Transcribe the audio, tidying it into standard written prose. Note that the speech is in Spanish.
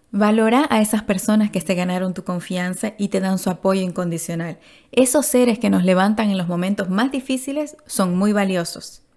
Valora a esas personas que se ganaron tu confianza y te dan su apoyo incondicional. Esos seres que nos levantan en los momentos más difíciles son muy valiosos.